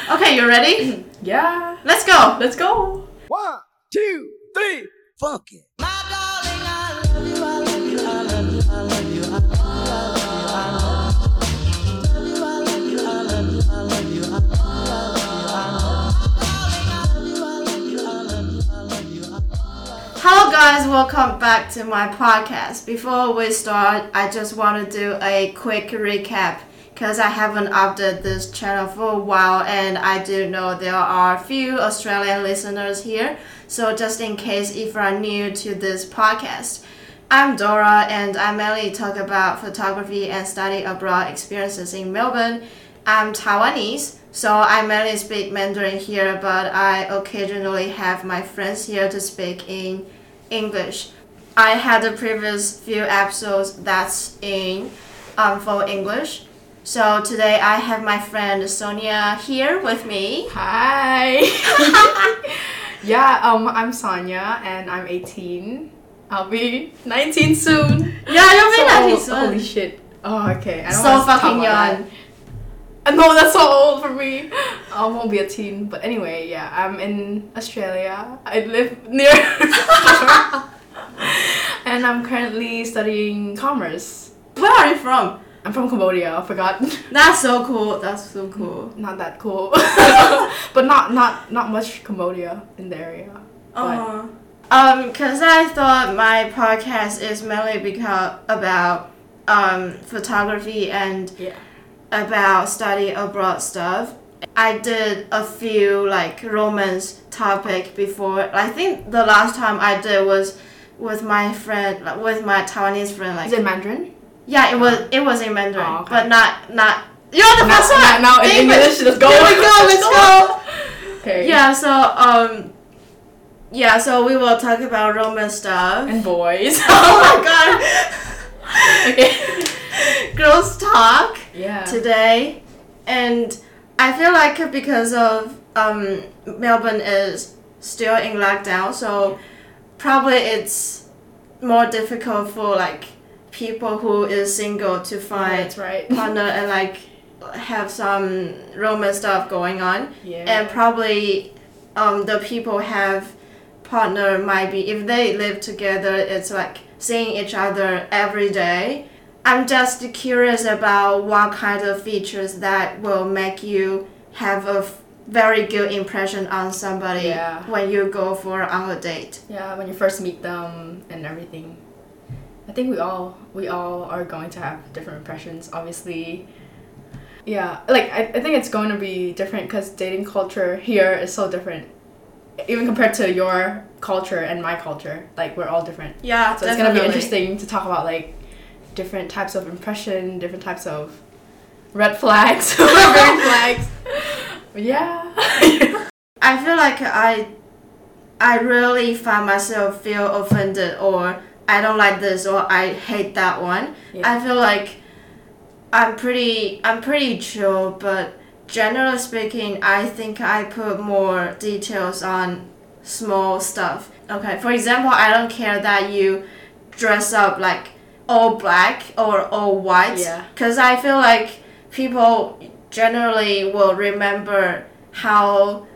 Okay, you ready? Yeah. Let's go. Let's go. 1, 2, 3, funk it. Hello guys, welcome back to my podcast. Before we start, I just want to do a quick recap because I haven't updated this channel for a while and I do know there are a few Australian listeners here. So just in case if you are new to this podcast, I'm Dora and I mainly talk about photography and study abroad experiences in Melbourne. I'm Taiwanese, so I mainly speak Mandarin here, but I occasionally have my friends here to speak in English. I had the previous few episodes that's in for English. So today I have my friend Sonia here with me. Hi. Yeah, I'm Sonia and I'm 18. I'll be 19 soon. Yeah, you'll be 19 soon. Holy shit. Oh, okay. I don't So wanna talk fucking about young. that. No, that's so old for me. I won't be a teen. But anyway, yeah, I'm in Australia. I live near and I'm currently studying commerce. Where are you from? I'm from Cambodia, I forgot. That's so cool. That's so cool. Not that cool. But not much Cambodia in the area. But Cause I thought my podcast is mainly about photography and yeah. about study abroad stuff. I did a few like romance topic before. I think the last time I did was with my friend, like, with my Taiwanese friend. Like, Is it Mandarin? yeah, it was in Mandarin, Oh, okay. but not. You're the first one. Now in Damn it. English, let's go. Here we go. Let's go. Okay. Yeah. So we will talk about romance stuff. And boys. Oh my god. Okay. Girls talk Yeah. today, and I feel like because of Melbourne is still in lockdown, so probably it's more difficult for like people who is single to find That's right. partner and like have some romance stuff going on. Yeah. And probably the people have partner might be, if they live together, it's like seeing each other every day. I'm just curious about what kind of features that will make you have a very good impression on somebody Yeah. when you go on a date. Yeah, when you first meet them and everything. I think we all are going to have different impressions, obviously. Yeah, like I think it's going to be different because dating culture here is so different. Even compared to your culture and my culture, like we're all different. Yeah, So it's gonna be interesting to talk about like different types of impression, different types of red flags, green flags. Yeah. I feel like I really find myself feel offended or I don't like this or I hate that one. Yeah. I feel like I'm pretty chill, but generally speaking, I think I put more details on small stuff. Okay, for example, I don't care that you dress up like all black or all white, Yeah. because I feel like people generally will remember how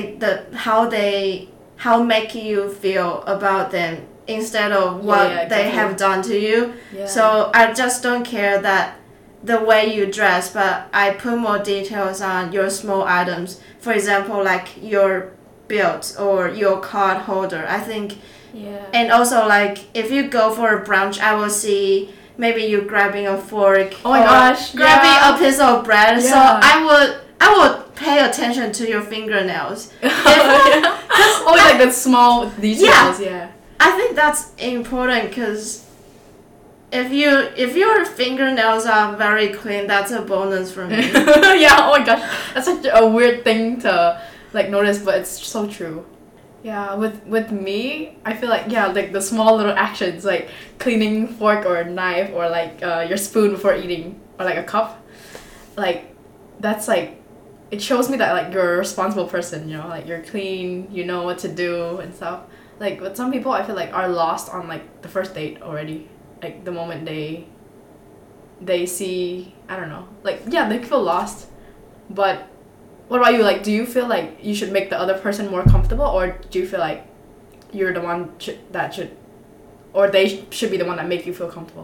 make you feel about them instead of what Yeah, they exactly. have done to you. Yeah. So I just don't care that the way you dress, but I put more details on your small items. For example, like your belt or your card holder. I think, Yeah. and also like if you go for a brunch, I will see maybe you grabbing a fork. Oh my or gosh, grabbing yeah. a piece of bread. So Yeah. I would pay attention to your fingernails. Always like the small details. Yeah. I think that's important because if your fingernails are very clean, that's a bonus for me. Yeah. Oh my gosh, that's such a weird thing to like notice, but it's so true. Yeah. With me, I feel like like the small little actions like cleaning fork or knife or like your spoon before eating or like a cup, like that's like. It shows me that like you're a responsible person, you know, like you're clean, you know what to do and stuff. Like, but some people I feel like are lost on like the first date already. Like the moment they see, I don't know, like yeah, they feel lost, but What about you? Like, do you feel like you should make the other person more comfortable, or do you feel like you're the one or they should be the one that make you feel comfortable?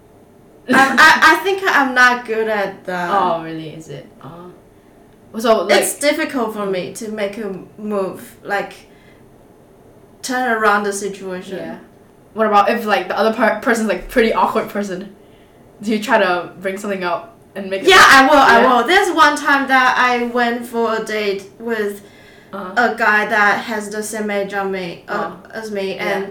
I think I'm not good at that. Oh, really? Is it? So like, it's difficult for me to make a move, like turn around the situation. yeah. What about if like the other person's like pretty awkward person? Do you try to bring something up and make it? Yeah, I will. I Yeah. will. There's one time that I went for a date with a guy that has the same age as me, and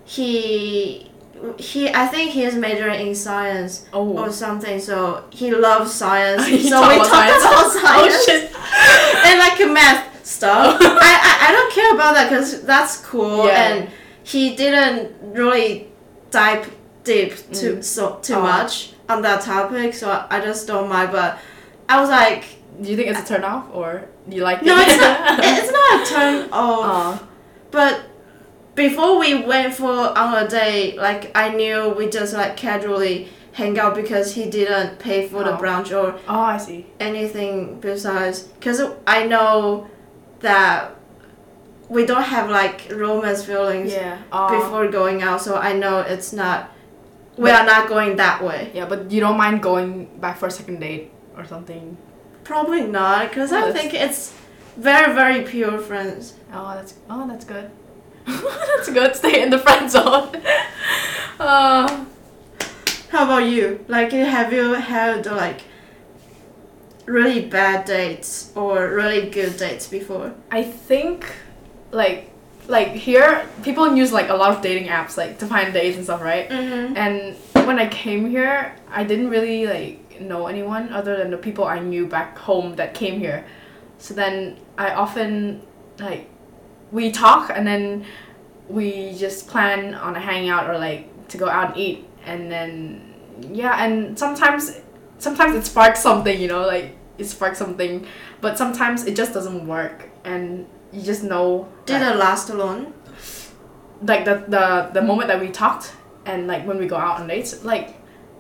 he I think he is majoring in science or something. So he loves science. So we talked about science. Oh shit! And like math stuff. I don't care about that because that's cool, and he didn't really dive deep too much on that topic, so I just don't mind. But I was like, do you think it's a turn off, or do you like it? No, it's not. It's not a turn off. But before we went on a date, like I knew we just like casually hang out because he didn't pay for the brunch or I see anything besides. Because I know that we don't have like romance feelings before going out, so I know it's not. We are not going that way. Yeah, but you don't mind going back for a second date or something? Probably not, because I think it's very, very pure friends. That's good. That's good. Stay in the friend zone. How about you? Like, have you had like really bad dates or really good dates before? I think, like here, people use like a lot of dating apps like to find dates and stuff, right? Mm-hmm. And when I came here, I didn't really like know anyone other than the people I knew back home that came here. So then I often like we talk and then we just plan on a hangout or like to go out and eat, and then and sometimes it sparks something, like it sparks something, but sometimes it just doesn't work and you just know. Did it last long? Like the moment that we talked and like when we go out on dates, like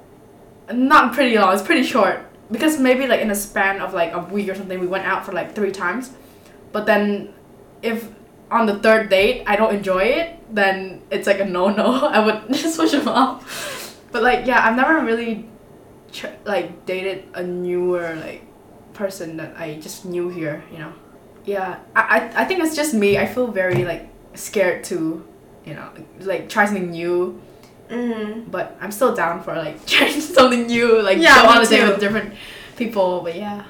not pretty long, it's pretty short, because maybe like in a span of like a week or something we went out for like 3 times, but then if on the 3rd date I don't enjoy it, then it's like a no. I would just switch them off. But like I've never really like dated a newer like person that I just knew here, I think it's just me. I feel very like scared to like try something new. Mm-hmm. But I'm still down for like trying something new, like go on a date with different people. But yeah.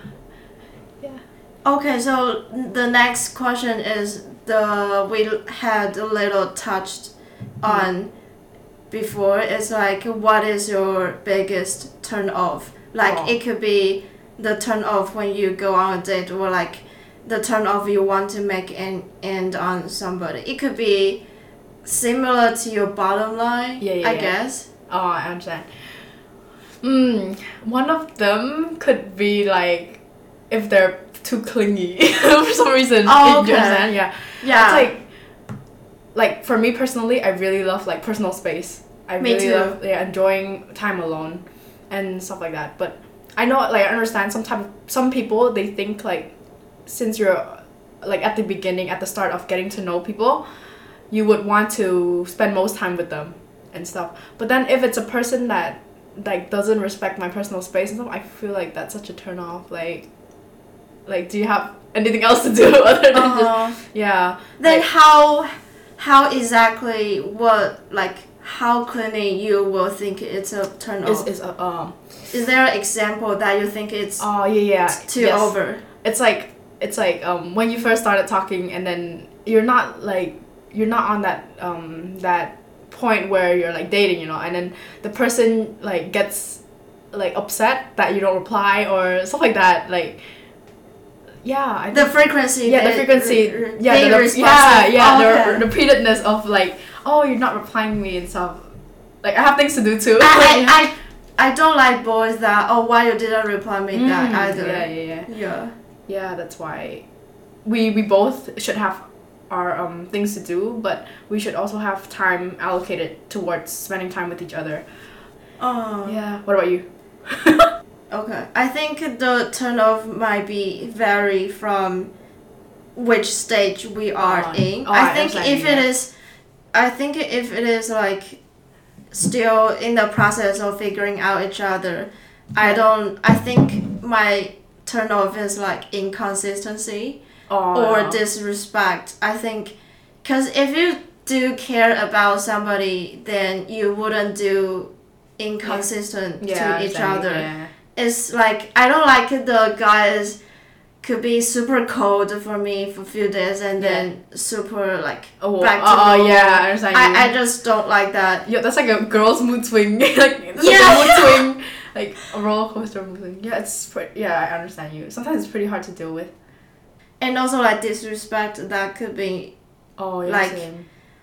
Okay, so the next question is we had a little touched on before. It's like, what is your biggest turn off? Like it could be the turn off when you go on a date, or like the turn off you want to make an end on somebody. It could be similar to your bottom line, I guess. Oh, I understand. One of them could be like if they're too clingy for some reason. Oh, okay. Do you understand? Yeah. Yeah. It's like for me personally, I really love like personal space. I me really too. love enjoying time alone and stuff like that. But I know, like, I understand sometimes some people, they think like since you're like at the beginning, at the start of getting to know people, you would want to spend most time with them and stuff. But then if it's a person that like doesn't respect my personal space and stuff, I feel like that's such a turn off. Like do you have anything else to do other than just Then like, how exactly how clingy you will think it's a turn off? Is there an example that you think it's too over? It's like when you first started talking, and then you're not on that point where you're like dating, and then the person like gets like upset that you don't reply or stuff like that, like the frequency. The repeatedness of like, oh, you're not replying me and stuff. Like I have things to do too. I don't like boys that why you didn't reply me that either. Yeah, that's why we both should have our things to do, but we should also have time allocated towards spending time with each other. Oh. Yeah. What about you? Okay. I think the turn off might be vary from which stage we are in. I think if it is, I think if it is like still in the process of figuring out each other, I think my turn off is like inconsistency or disrespect. I think, because if you do care about somebody, then you wouldn't do inconsistent to each other. Yeah. It's like, I don't like the guys could be super cold for me for a few days and then super like back to normal. Yeah, I understand you. I just don't like that. Yeah, that's like a girl's mood swing. Like mood swing, like a roller coaster mood swing. Yeah, I understand you. Sometimes it's pretty hard to deal with. And also like disrespect that could be like same.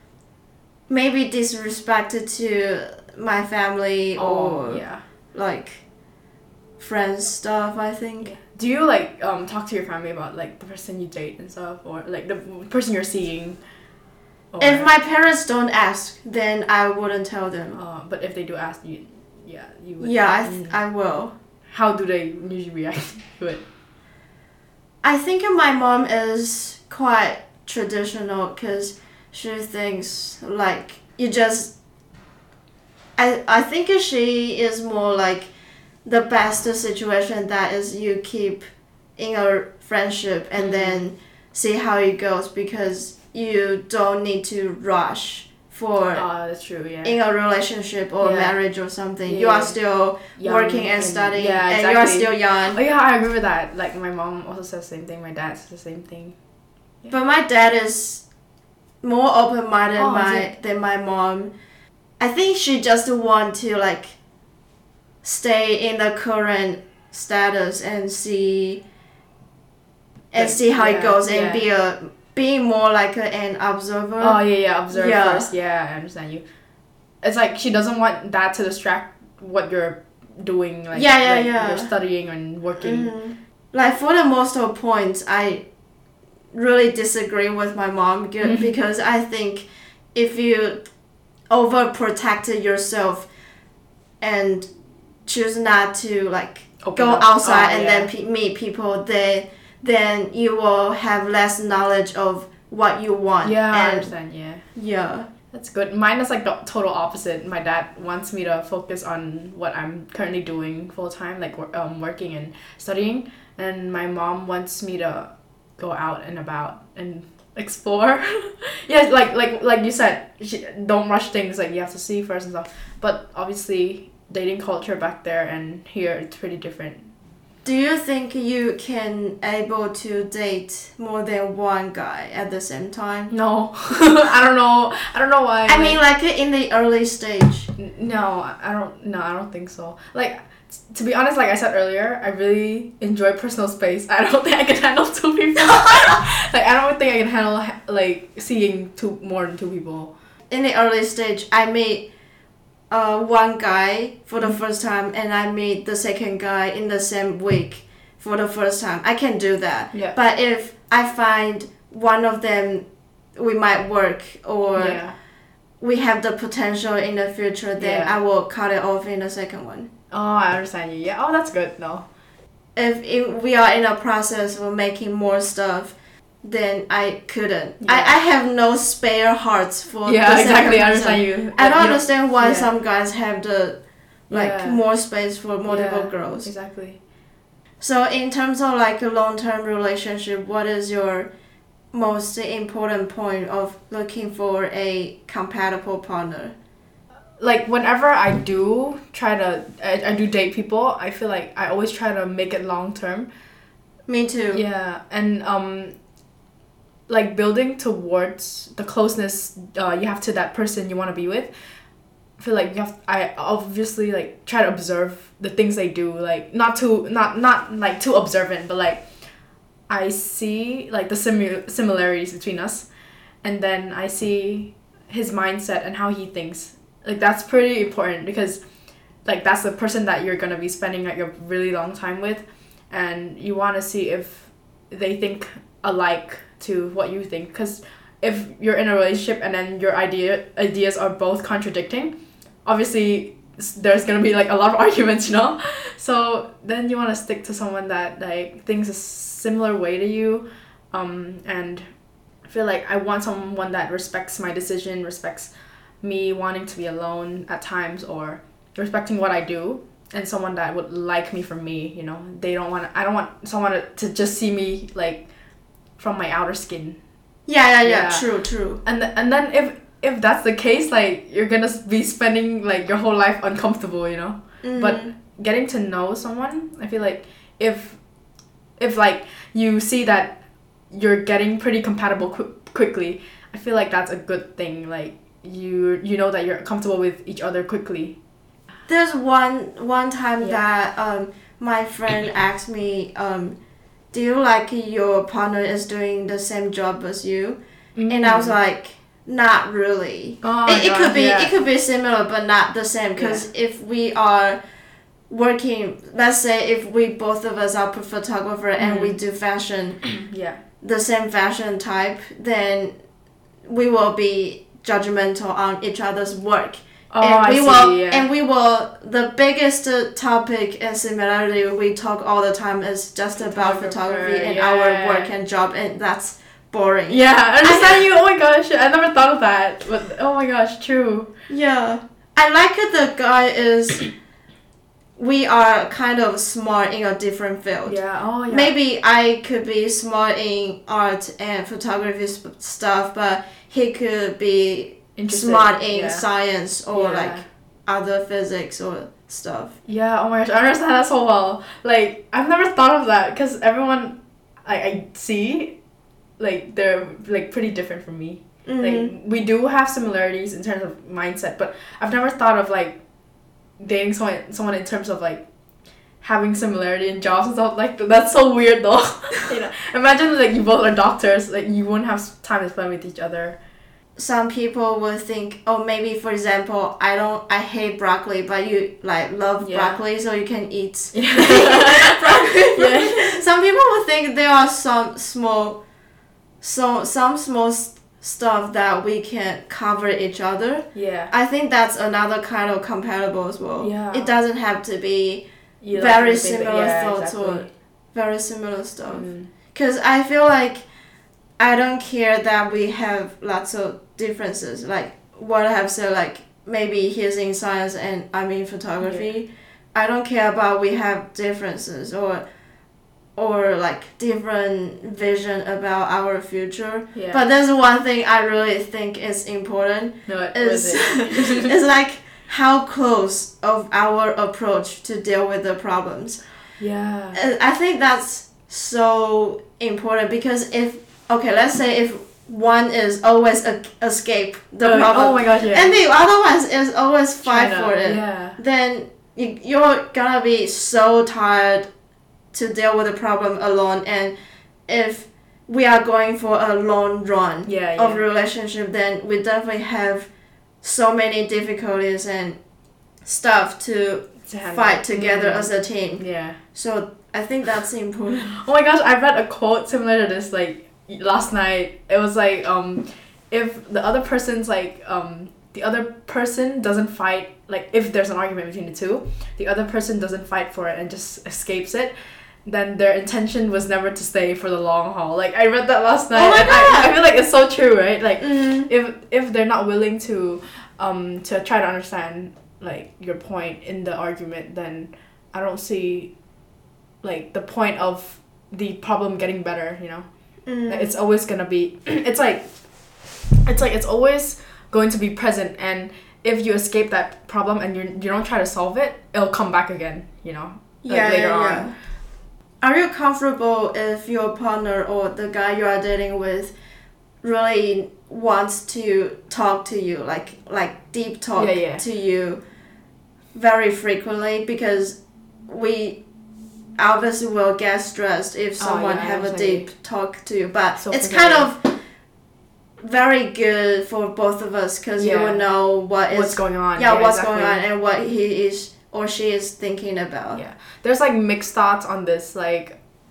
maybe disrespect to my family or like friends stuff, I think. Yeah. Do you like talk to your family about like the person you date and stuff, or like the person you're seeing? Or... If my parents don't ask, then I wouldn't tell them. But if they do ask, you would. Yeah, I will. How do they usually react to it? I think my mom is quite traditional because she thinks like you just. I think she is more like the best situation that is you keep in a friendship and then see how it goes, because you don't need to rush for that's true, yeah. in a relationship or marriage or something. Yeah. You are still young working and studying exactly. and you are still young. Oh yeah, I agree with that. Like my mom also says the same thing, my dad says the same thing. Yeah. But my dad is more open-minded than my mom. I think she just want to like stay in the current status and see how it goes and being more like an observer. Observe first. Yeah, I understand you. It's like she doesn't want that to distract what you're doing. Like, you're studying and working. Mm-hmm. Like for the most of points, I really disagree with my mom because I think if you overprotect yourself and choose not to like go outside and then meet people, then you will have less knowledge of what you want. Yeah, I understand. Yeah. That's good. Mine is like the total opposite. My dad wants me to focus on what I'm currently doing full time, like working and studying, and my mom wants me to go out and about and explore. Yeah, like you said, don't rush things. Like you have to see first and stuff. But obviously, dating culture back there and here, it's pretty different. Do you think you can able to date more than one guy at the same time? No. I don't know why. I mean, like in the early stage. No, I don't think so. Like, to be honest, like I said earlier, I really enjoy personal space. I don't think I can handle two people. Like, I don't think I can handle like seeing more than two people. In the early stage, I meet one guy for the first time and I meet the second guy in the same week for the first time. I can do that. Yeah. But if I find one of them we might work or we have the potential in the future, then I will cut it off in the second one. Oh, I understand you. Yeah. Oh, that's good. No. If we are in a process of making more stuff, then I couldn't. I have no spare hearts for the second exactly. person. I understand you. I don't understand why some guys have the more space for multiple girls. Exactly. So in terms of like a long-term relationship, what is your most important point of looking for a compatible partner? Like whenever I do I do date people, I feel like I always try to make it long term. Me too. Yeah, and like building towards the closeness you have to that person you want to be with. I feel like I obviously like try to observe the things they do, like not like too observant, but like I see like the similarities between us, and then I see his mindset and how he thinks. Like that's pretty important because like that's the person that you're gonna be spending like a really long time with, and you want to see if they think alike to what you think. Because if you're in a relationship and then your ideas are both contradicting, obviously there's gonna be like a lot of arguments, you know. So then you want to stick to someone that like thinks a similar way to you, and I feel like I want someone that respects my decision, respects me wanting to be alone at times, or respecting what I do, and someone that would like me for me, you know. I don't want someone to just see me like from my outer skin. Yeah. True. And then if that's the case, like you're gonna be spending like your whole life uncomfortable, you know. But getting to know someone, I feel like if like you see that you're getting pretty compatible quickly, I feel like that's a good thing. Like you know that you're comfortable with each other quickly. There's one time that my friend asked me, do you like your partner is doing the same job as you? And I was like, not really. It could be similar but not the same, because if we are working, let's say if we both of us are photographer and we do fashion, the same fashion type, then we will be judgmental on each other's work. And we will the biggest topic and similarity we talk all the time is just about photography and our work and job, and that's boring. Yeah, I understand you. Oh my gosh, I never thought of that. But oh my gosh, true. Yeah. I like it, the guy is we are kind of smart in a different field. Yeah. Maybe I could be smart in art and photography stuff, but he could be smart in science or like other physics or stuff. Yeah, oh my gosh, I understand that so well. Like, I've never thought of that, because everyone I see, like, they're like pretty different from me. Like, we do have similarities in terms of mindset, but I've never thought of like dating someone in terms of like having similarity in jobs and stuff. Like, that's so weird though. You know, imagine like you both are doctors, like you wouldn't have time to spend with each other. Some people would think, oh, maybe for example, I hate broccoli, but you like love broccoli, so you can eat broccoli. Some people would think there are some small stuff that we can cover each other. I think that's another kind of compatible as well. It doesn't have to be very similar thoughts or very similar stuff. Because I feel like I don't care that we have lots of differences. Like what I have said, like maybe he's in science and I'm in photography. I don't care about we have differences or like different vision about our future. But there's one thing I really think is important. Is like how close of our approach to deal with the problems. I think that's so important, because let's say if one is always escape the problem, and the other one is always fight for it, then you're gonna be so tired to deal with the problem alone. And if we are going for a long run of relationship, then we definitely have so many difficulties and stuff to fight together as a team. So I think that's important. Oh my gosh, I read a quote similar to this like last night. It was like if the other person's like the other person doesn't fight, like if there's an argument between the two, the other person doesn't fight for it and just escapes it, then their intention was never to stay for the long haul. Like I read that last night. Oh my God. I feel like it's so true, right? Like if they're not willing to try to understand like your point in the argument, then I don't see like the point of the problem getting better, you know. It's always gonna be it's always going to be present, and if you escape that problem and you don't try to solve it, it'll come back again, you know, later on. Are you comfortable if your partner or the guy you are dating with really wants to talk to you, like deep talk to you very frequently? Because we obviously will get stressed if someone have a deep talk to you, but so it's kind of very good for both of us, because you will know what's going on. What's going on and what he is or she is thinking about. There's like mixed thoughts on this. Like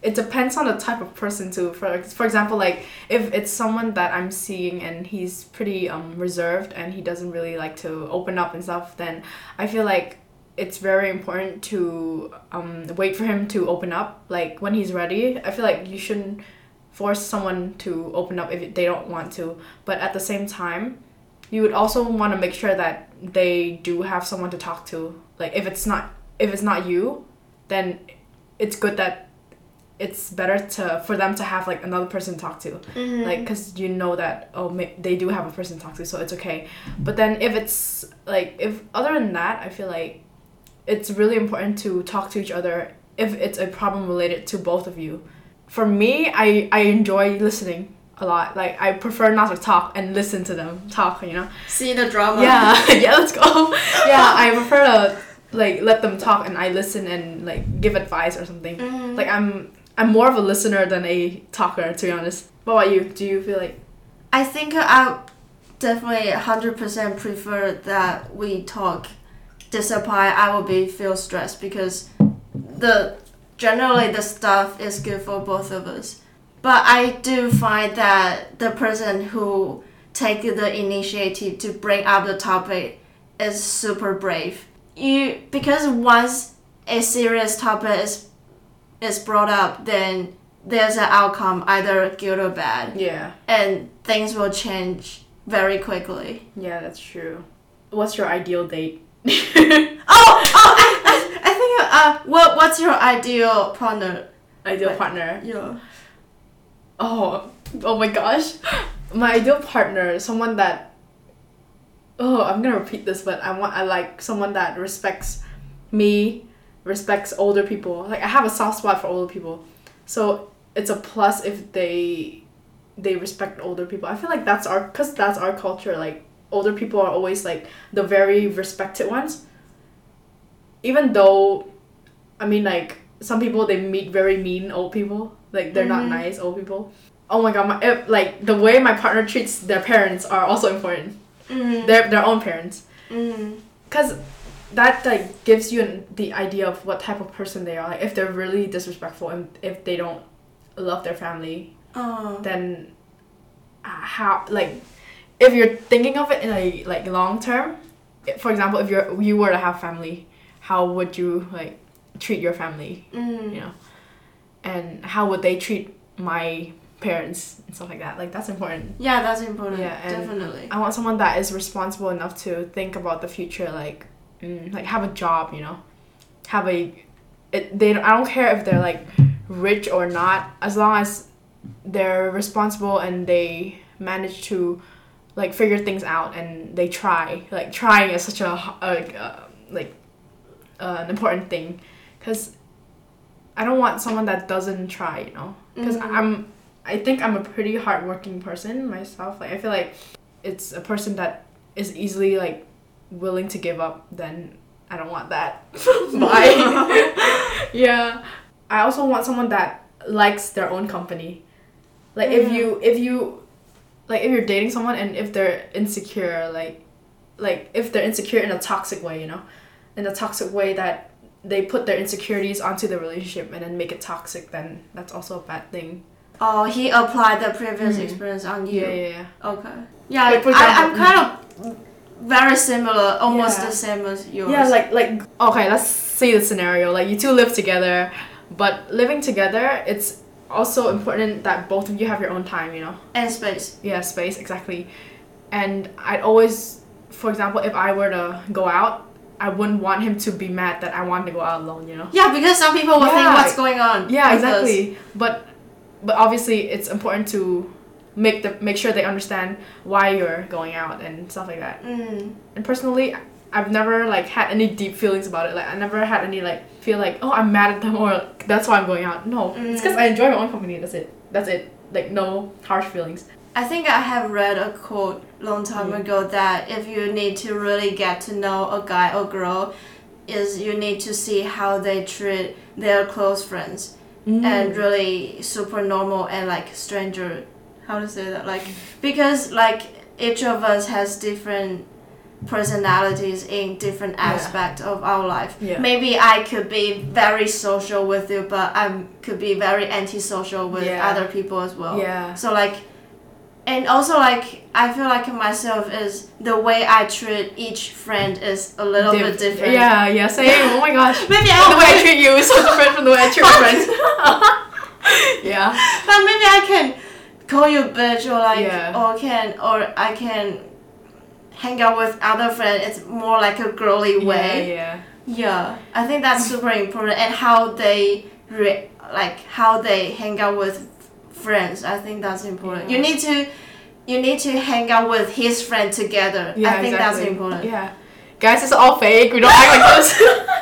it depends on the type of person too. For example, like if it's someone that I'm seeing and he's pretty reserved and he doesn't really like to open up and stuff, then I feel like it's very important to wait for him to open up. Like when he's ready, I feel like you shouldn't force someone to open up if they don't want to. But at the same time, you would also want to make sure that they do have someone to talk to. Like if it's not you, then it's good that it's better for them to have like another person to talk to. Like because you know that they do have a person to talk to, so it's okay. But then if it's like, if other than that, I feel like it's really important to talk to each other if it's a problem related to both of you. For me, I enjoy listening a lot. Like I prefer not to talk and listen to them talk, you know. See the drama. Yeah, yeah, let's go. Yeah, I prefer to like let them talk and I listen and like give advice or something. Like I'm more of a listener than a talker, to be honest. What about you? Do you feel like? I think I definitely 100% prefer that we talk. Disappointed, I will feel stressed because generally the stuff is good for both of us. But I do find that the person who take the initiative to bring up the topic is super brave. Because once a serious topic is brought up, then there's an outcome, either good or bad. Yeah. And things will change very quickly. Yeah, that's true. What's your ideal date? I think what's your ideal partner? Partner? Yeah. Oh my gosh. My ideal partner, someone that I'm gonna repeat this, but I like someone that respects me, respects older people. Like I have a soft spot for older people. So it's a plus if they respect older people. I feel like that's our culture. Like older people are always like the very respected ones. Even though, I mean, like some people, they meet very mean old people. Like they're not nice old people. Oh my god, like the way my partner treats their parents are also important. Their own parents. Cause that like gives you the idea of what type of person they are. Like if they're really disrespectful and if they don't love their family, then how, like if you're thinking of it in a like long term, for example, if you were to have family, how would you like treat your family, you know, and how would they treat my parents and stuff like that. Like that's important. Yeah, that's important. Yeah, and definitely. I want someone that is responsible enough to think about the future, like have a job, you know, I don't care if they're like rich or not, as long as they're responsible and they manage to like figure things out and they try. Like trying is such an important thing, because I don't want someone that doesn't try, you know, because I think I'm a pretty hardworking person myself. Like I feel like it's a person that is easily like willing to give up, then I don't want that. Bye. Yeah. I also want someone that likes their own company. Like if you're dating someone and if they're insecure, like if they're insecure in a toxic way, you know, in a toxic way that they put their insecurities onto the relationship and then make it toxic, then that's also a bad thing. Oh, he applied the previous experience on you. Yeah. Okay. Yeah, like, for example, I'm kind of very similar, almost the same as yours. Yeah, like okay, let's say the scenario. Like you two live together, but living together, it's also important that both of you have your own time, you know? And space. Yeah, space, exactly. And I'd always, for example, if I were to go out, I wouldn't want him to be mad that I wanted to go out alone, you know? Yeah, because some people will think what's going on. Yeah, exactly. But obviously it's important to make sure they understand why you're going out and stuff like that. And personally, I've never like had any deep feelings about it. Like I never had any like feel like, oh, I'm mad at them or that's why I'm going out. No, it's because I enjoy my own company. That's it. Like no harsh feelings. I think I have read a quote long time ago that if you need to really get to know a guy or girl, is you need to see how they treat their close friends and really super normal and like stranger. How to say that? Like because like each of us has different personalities in different aspects of our life. Yeah. Maybe I could be very social with you, but I could be very antisocial with other people as well. Yeah. So like, and also like, I feel like myself is the way I treat each friend is a little bit different. Yeah, same. Oh my gosh. Maybe the way I treat you is so different from the way I treat my friends. Yeah. But maybe I can call you bitch or like, Yeah. or I can hang out with other friends. It's more like a girly way. Yeah, I think that's super important, and how they how they hang out with friends. I think that's important. Yeah. You need to hang out with his friend together. Yeah, I think exactly. that's important. Yeah, guys, it's all fake. We don't act like this.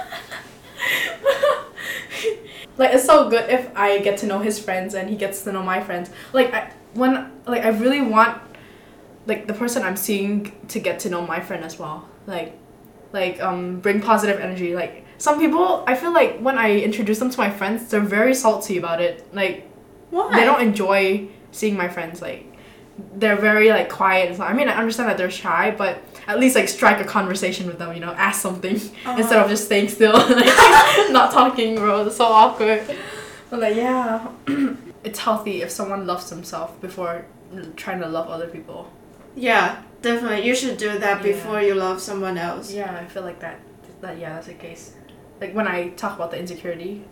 Like, it's so good if I get to know his friends and he gets to know my friends. Like, I really want like the person I'm seeing to get to know my friend as well. Like bring positive energy. Like, some people, I feel like when I introduce them to my friends, they're very salty about it. Like, Why? they don't enjoy seeing my friends. Like, they're very like quiet and stuff. I mean, I understand that they're shy, but at least like strike a conversation with them, you know, ask something instead of just staying still and like, not talking, bro. It's so awkward. But like, yeah, it's healthy if someone loves themselves before trying to love other people. Yeah, definitely. You should do that before you love someone else. Yeah, I feel like that's the case. Like, when I talk about the insecurity.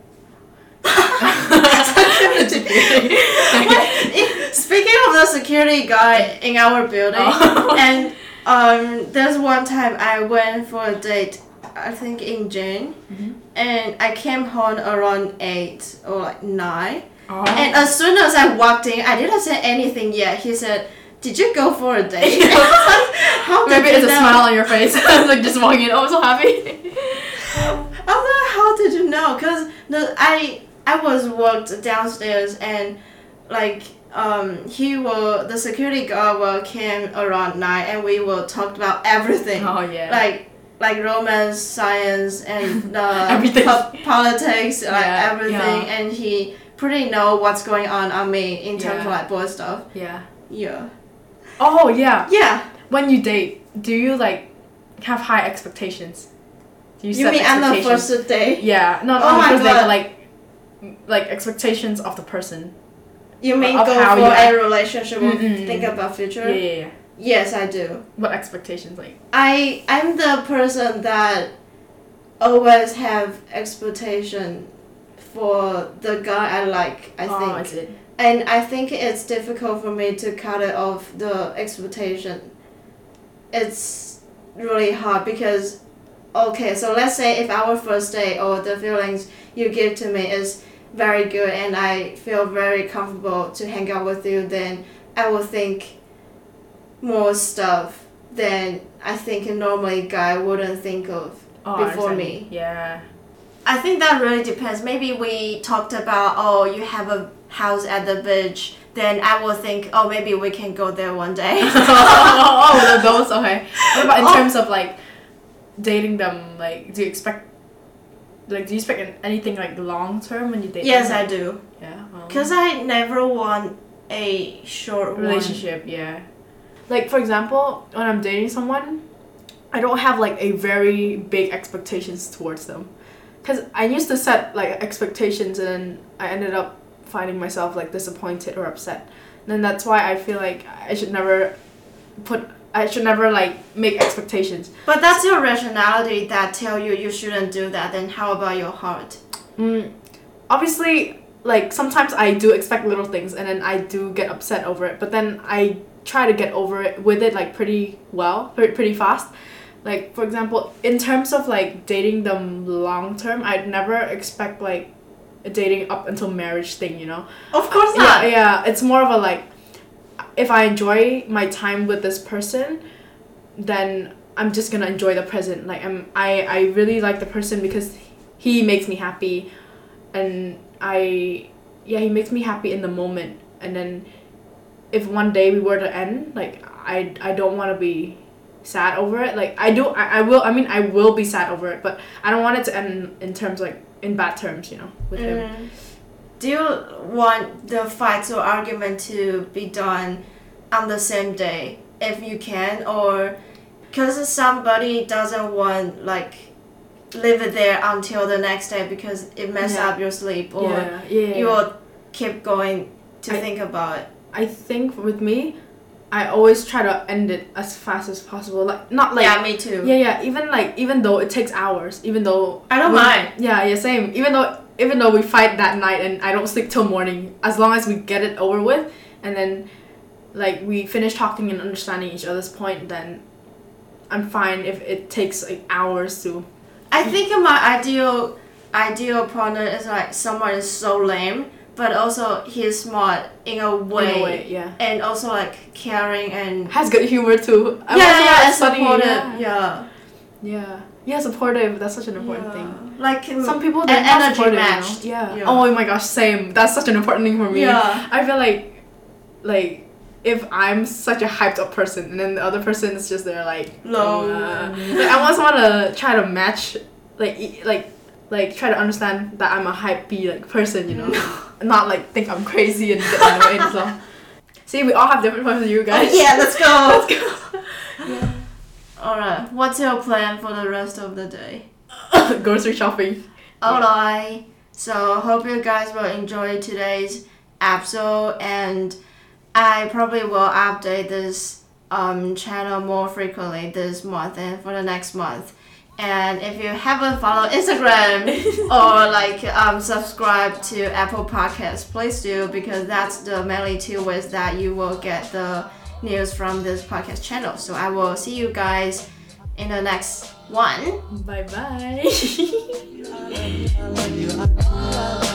Speaking of the security guy in our building, and there's one time I went for a date, I think in June, and I came home around 8 or like 9, and as soon as I walked in, I didn't say anything yet. He said, "Did you go for a date?" How did Maybe you it's know? a smile on your face. Like, just walking in, oh, I'm so happy. I was like, how did you know? Because I was walked downstairs and like the security guard came around 9 and we will talk about everything. Oh yeah. Like romance, science, and Everything. Politics, like everything, yeah. and he pretty know what's going on me in terms of Yeah. like boy stuff. Yeah. Yeah. Oh yeah. Yeah. When you date, do you like have high expectations? Do You set mean on the expectations? first date? Yeah, not Oh on the my first date, God. but like expectations of the person. You mean Of go how for you a act. relationship or Mm-mm. think about future? Yeah. Yes, I do. What expectations like? I'm the person that always have expectation for the guy I like, I think. Oh, is it? And I think it's difficult for me to cut it off the expectation. It's really hard because, okay, so let's say if our first date or the feelings you give to me is very good and I feel very comfortable to hang out with you, then I will think more stuff than I think a normally guy wouldn't think of before me. Yeah. I think that really depends. Maybe we talked about, oh, you have a house at the beach, then I will think, oh, maybe we can go there one day. Those, okay. What about in terms of like dating them? Like, do you expect anything like long term when you date Yes, them? I do. Yeah. Because I never want a short Relationship, yeah. Like, for example, when I'm dating someone, I don't have like a very big expectations towards them. Because I used to set like expectations and then I ended up finding myself like disappointed or upset. And then that's why I feel like I should never like make expectations. But that's your rationality that tell you shouldn't do that. Then how about your heart? Obviously, like sometimes I do expect little things and then I do get upset over it. But then I try to get over it with it like pretty fast. Like, for example, in terms of like dating them long term, I'd never expect like a dating up until marriage thing, you know? Of course not. Yeah, it's more of a like, if I enjoy my time with this person, then I'm just gonna enjoy the present. Like, I really like the person because he makes me happy, and he makes me happy in the moment. And then if one day we were to end, like I don't want to be sad over it. Like, I will be sad over it, but I don't want it to end in terms like in bad terms, you know, with him. Do you want the fights or argument to be done on the same day if you can, or because somebody doesn't want like leave it there until the next day because it messes up your sleep or you will keep going to think about it. I think with me, I always try to end it as fast as possible. Like not like yeah, me too. Yeah. Even though it takes hours, even though I don't mind. Yeah, same. Even though we fight that night and I don't sleep till morning, as long as we get it over with, and then like we finish talking and understanding each other's point, then I'm fine if it takes like hours to. I think my ideal partner is like someone is so lame, but also he's smart in a way, yeah, and also like caring and has good humor too. and supportive, supportive. That's such an important thing. Like some people, they're not energy supportive, matched. you know? Yeah. Oh my gosh, same. That's such an important thing for me. Yeah. I feel like if I'm such a hyped up person and then the other person is just there like low, like I want someone to try to match, like try to understand that I'm a hypey like person, you know, not like think I'm crazy and get annoyed and stuff. See, we all have different points of view, guys. Oh, yeah, let's go. Let's go. Yeah. All right. What's your plan for the rest of the day? Grocery shopping. Alright. So hope you guys will enjoy today's episode, and I probably will update this channel more frequently this month and for the next month. And if you haven't followed Instagram or like subscribe to Apple Podcasts, please do, because that's the mainly two ways that you will get the news from this podcast channel. So I will see you guys in the next one. Bye bye.